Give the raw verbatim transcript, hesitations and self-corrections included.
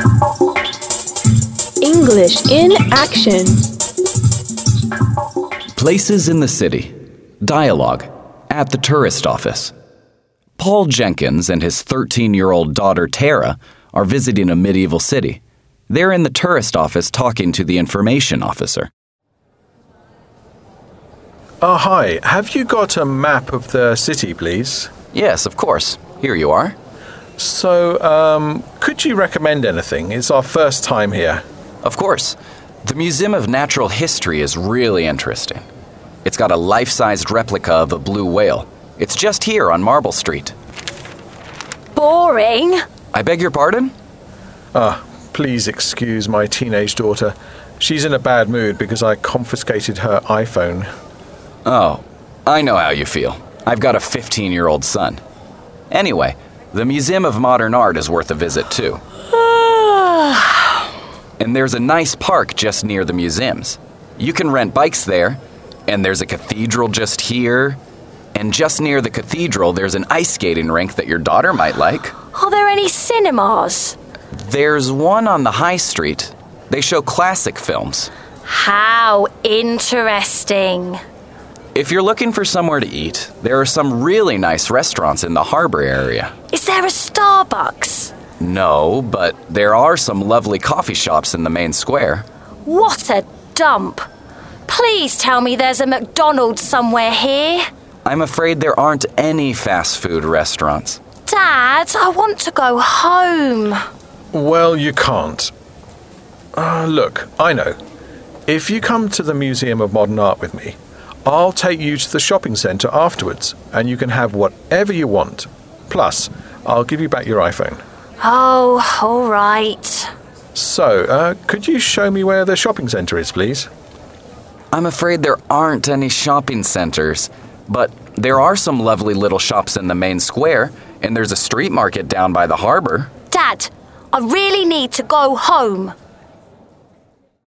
English in action. Places in the city. Dialogue. At the tourist office. Paul Jenkins and his thirteen-year-old daughter Tara are visiting a medieval city. They're in the tourist office talking to the information officer. Oh, hi. Have you got a map of the city, please? Yes, of course. Here you are. So, um, could you recommend anything? It's our first time here. Of course. The Museum of Natural History is really interesting. It's got a life-sized replica of a blue whale. It's just here on Marble Street. Boring. I beg your pardon? Ah, please excuse my teenage daughter. She's in a bad mood because I confiscated her iPhone. Oh, I know how you feel. I've got a fifteen-year-old son. Anyway, the Museum of Modern Art is worth a visit, too. And there's a nice park just near the museums. You can rent bikes there, and there's a cathedral just here. And just near the cathedral, there's an ice skating rink that your daughter might like. Are there any cinemas? There's one on the high street. They show classic films. How interesting. If you're looking for somewhere to eat, there are some really nice restaurants in the harbor area. Is there a Starbucks? No, but there are some lovely coffee shops in the main square. What a dump. Please tell me there's a McDonald's somewhere here. I'm afraid there aren't any fast food restaurants. Dad, I want to go home. Well, you can't. Uh, look, I know. If you come to the Museum of Modern Art with me, I'll take you to the shopping centre afterwards, and you can have whatever you want. Plus, I'll give you back your iPhone. Oh, all right. So, uh, could you show me where the shopping centre is, please? I'm afraid there aren't any shopping centres, but there are some lovely little shops in the main square, and there's a street market down by the harbour. Dad, I really need to go home.